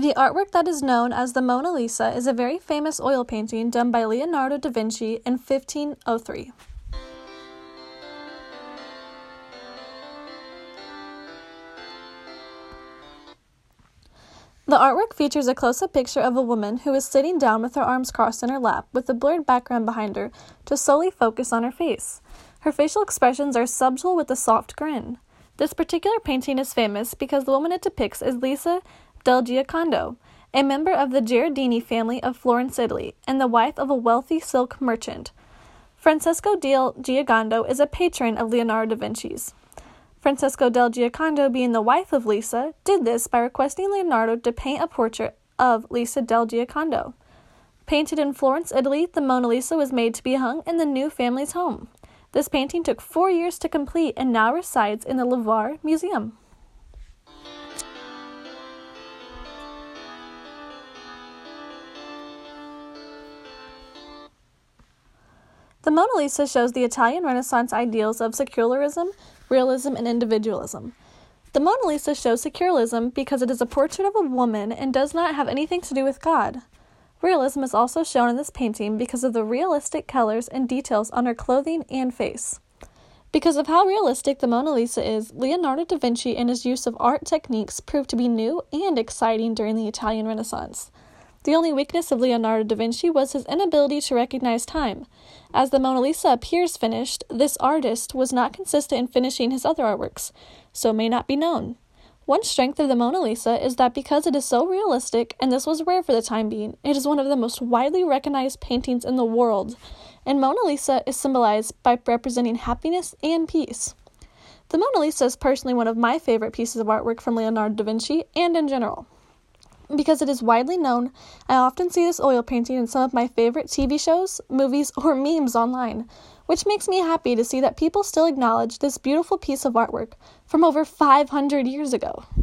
The artwork that is known as the Mona Lisa is a very famous oil painting done by Leonardo da Vinci in 1503. The artwork features a close-up picture of a woman who is sitting down with her arms crossed in her lap with a blurred background behind her to solely focus on her face. Her facial expressions are subtle with a soft grin. This particular painting is famous because the woman it depicts is Lisa del Giocondo, a member of the Ghirardini family of Florence, Italy, and the wife of a wealthy silk merchant. Francesco del Giocondo is a patron of Leonardo da Vinci's. Francesco del Giocondo, being the wife of Lisa, did this by requesting Leonardo to paint a portrait of Lisa del Giocondo. Painted in Florence, Italy, the Mona Lisa was made to be hung in the new family's home. This painting took 4 years to complete and now resides in the Louvre Museum. The Mona Lisa shows the Italian Renaissance ideals of secularism, realism, and individualism. The Mona Lisa shows secularism because it is a portrait of a woman and does not have anything to do with God. Realism is also shown in this painting because of the realistic colors and details on her clothing and face. Because of how realistic the Mona Lisa is, Leonardo da Vinci and his use of art techniques proved to be new and exciting during the Italian Renaissance. The only weakness of Leonardo da Vinci was his inability to recognize time. As the Mona Lisa appears finished, this artist was not consistent in finishing his other artworks, so may not be known. One strength of the Mona Lisa is that because it is so realistic, and this was rare for the time being, it is one of the most widely recognized paintings in the world, and Mona Lisa is symbolized by representing happiness and peace. The Mona Lisa is personally one of my favorite pieces of artwork from Leonardo da Vinci, and in general. Because it is widely known, I often see this oil painting in some of my favorite TV shows, movies, or memes online, which makes me happy to see that people still acknowledge this beautiful piece of artwork from over 500 years ago.